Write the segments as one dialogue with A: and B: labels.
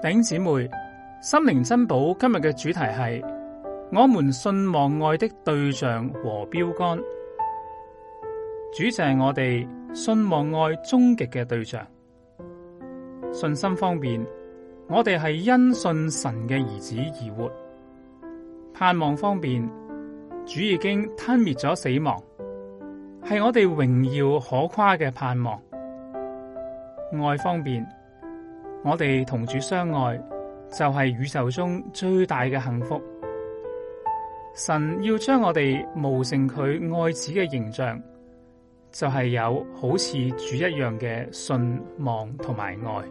A: 弟兄姊妹，心靈珍寶今日嘅主題係我們信望愛的對象和標竿。主就係我哋信望愛終極嘅對象。信心方面，我哋係因信神嘅兒子而活。盼望方面，主已經吞滅咗死亡，係我哋榮耀可誇嘅盼望。愛方面，我哋同主相愛，就係宇宙中最大嘅幸福。神要將我哋模成佢愛子嘅形象，就係有好似主一樣嘅信望同埋愛。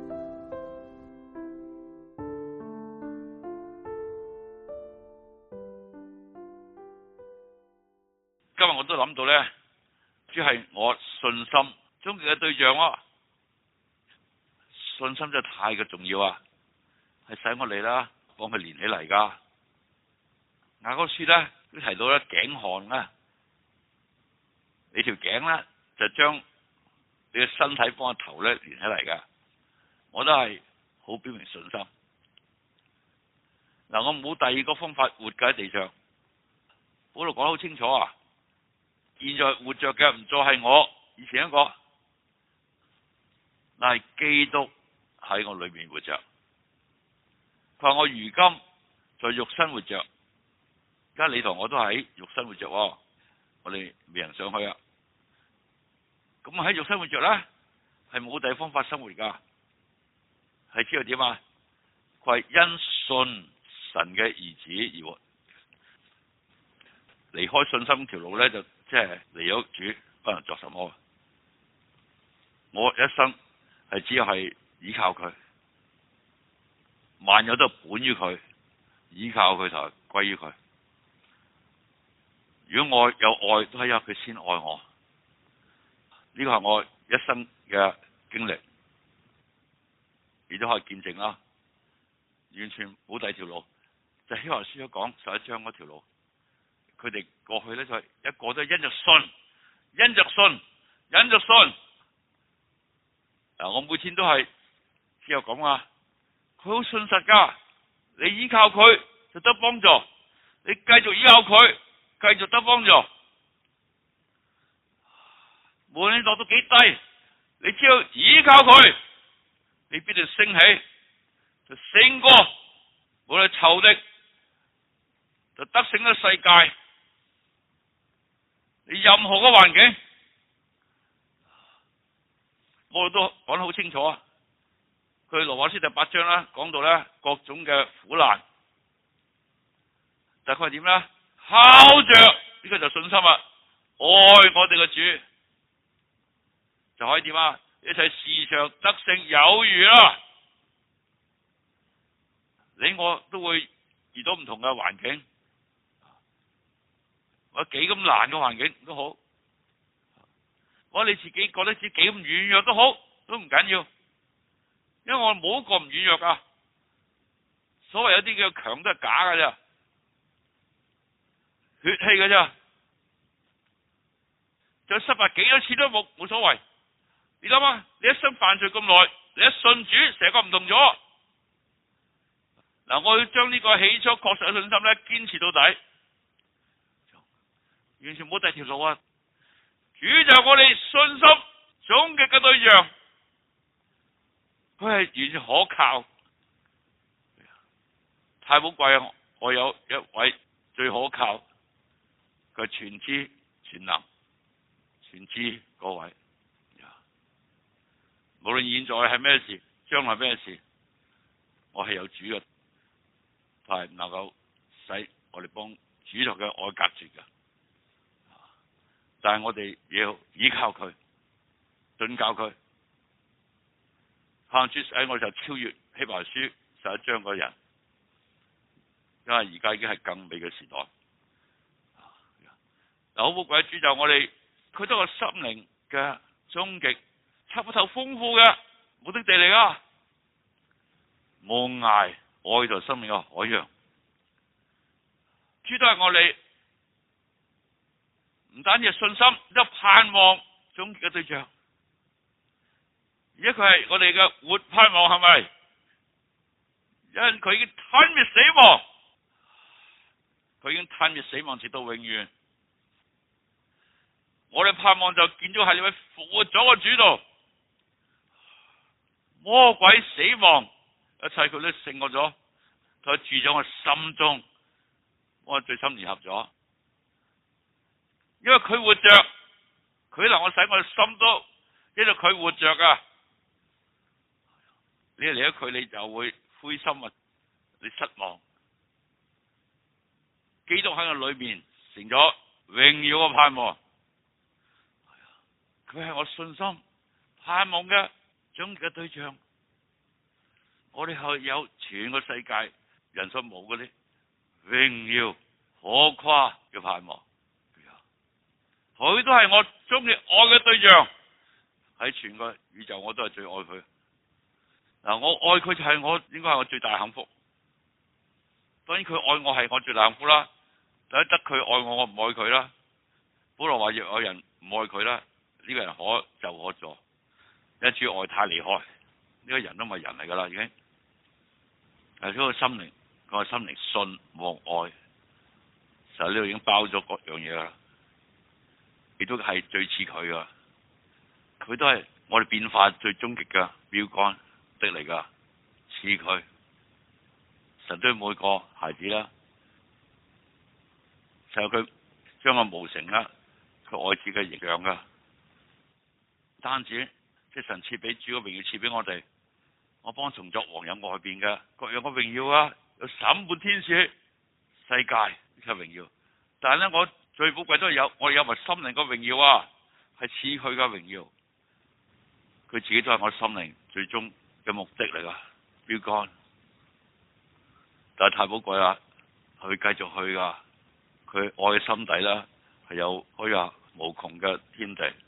B: 今日我都諗到咧，主係我信心終極嘅對象咯。信心真係太過重要啊！係使我哋啦，幫佢連起嚟噶。雅歌書咧都提到咧，頸項咧，你條頸咧就將你嘅身體幫個頭咧連起嚟噶。我都係好表明信心。嗱，我冇第二個方法活喺地上。保羅講得好清楚啊！現在活着嘅唔再係我以前一個，但係基督喺我裏面活着。佢話我如今在肉身活着，而家你同我都喺肉身活着，我哋未人上去啊。咁喺肉身活着咧，係冇第二方法生活噶，係知道點啊？佢係因信神嘅兒子而活，離開信心條路咧，就即係離咗主，不能作什麼。我一生係只係依靠佢，萬有都本於佢，依靠佢就歸於佢。如果我有愛，都係因為佢先愛我。呢個係我一生嘅經歷，你都可以見證啦。完全冇第二條路，就希伯來書講11章嗰條路。佢哋過去咧就係一個都係因着信，因着信，因着信。嗱，我每天都係只有講啊，佢好信實噶，你依靠佢就得幫助，你繼續依靠佢，繼續得幫助。無論你落到幾低，你只要依靠佢，你必定升起，就勝過無論仇敵，就得勝咗世界。你任何嘅環境，我哋都講得好清楚啊！佢羅馬書第8章啦，講到咧各種嘅苦難，但係佢係點咧？靠着呢個就信心啊！愛我哋嘅主，就可以點啊？一切事上得勝有餘啦！你我都會遇到唔同嘅環境。我幾咁難嘅環境都好，我你自己覺得自己幾咁軟弱都好，都唔緊要，因為我冇一個唔軟弱噶。所謂有啲叫強都係假噶啫，血氣噶啫，就失敗幾多次都冇所謂。你諗下，你一生犯罪咁耐，你一信主，成個唔同咗。嗱，我要將呢個起初確實嘅信心咧，堅持到底。完全冇第二條路啊！主就係我哋信心終極嘅對象，佢係完全可靠，太寶貴啊！我有一位最可靠，佢係全知全能全知嗰位。無論現在係咩事，將來咩事，我係有主嘅，係能夠使我哋幫主同嘅愛隔絕嘅。但係我哋要依靠佢，信教佢，盼主使我就超越希伯來書11章嗰人，因為而家已經係更美嘅時代。嗱，好寶貴主就我哋，佢都係心靈嘅終極，測不透豐富嘅目的地嚟噶，無涯愛就生命嘅海洋，主都係我哋。唔單止係信心，都盼望終極嘅對象。而家佢係我哋嘅活盼望，係咪？ 因為佢已經吞滅死亡，佢已經吞滅死亡直到永遠。我哋盼望就見咗喺呢位復活咗嘅主度，魔鬼死亡一切佢都勝過咗，佢住咗我心中，我最深聯合咗。因為佢活着，佢能夠使我哋心都因為佢活着啊！你離咗佢，你就會灰心啊，你失望。基督喺我裏面成咗榮耀嘅盼望，佢係我信心盼望嘅終極嘅對象。我哋係有全個世界人所冇嗰啲榮耀可誇嘅盼望，佢都係我終極愛嘅對象。喺全個宇宙我都係最愛佢。嗱，我愛佢就係我應該係我最大幸福。當然佢愛我係我最大幸福啦。但係得佢愛我，我唔愛佢啦。保羅話若有人唔愛佢啦，呢個人可就可助。因為主愛太厲害，呢個人都唔係人嚟噶啦，已經。係呢個心靈，個心靈信望愛，就呢度已經包咗各樣嘢啦。亦都係最似佢噶，佢都係我哋變化最終極嘅標杆的嚟噶，似佢。神對每個孩子啦，就佢將個無成啦，佢愛子嘅形象噶。單止即係神賜俾主嘅榮耀賜俾我哋，我幫從作王有外邊嘅各樣嘅榮耀啊，有審判天使世界嘅榮耀。但係咧，我最寶貴都係我哋有埋心靈嘅榮耀啊，係似佢嘅榮耀。佢自己都係我心靈最終嘅目的嚟噶，標杆。但係太寶貴啦，佢繼續去噶，佢愛嘅心底啦係有可以話無窮嘅天地。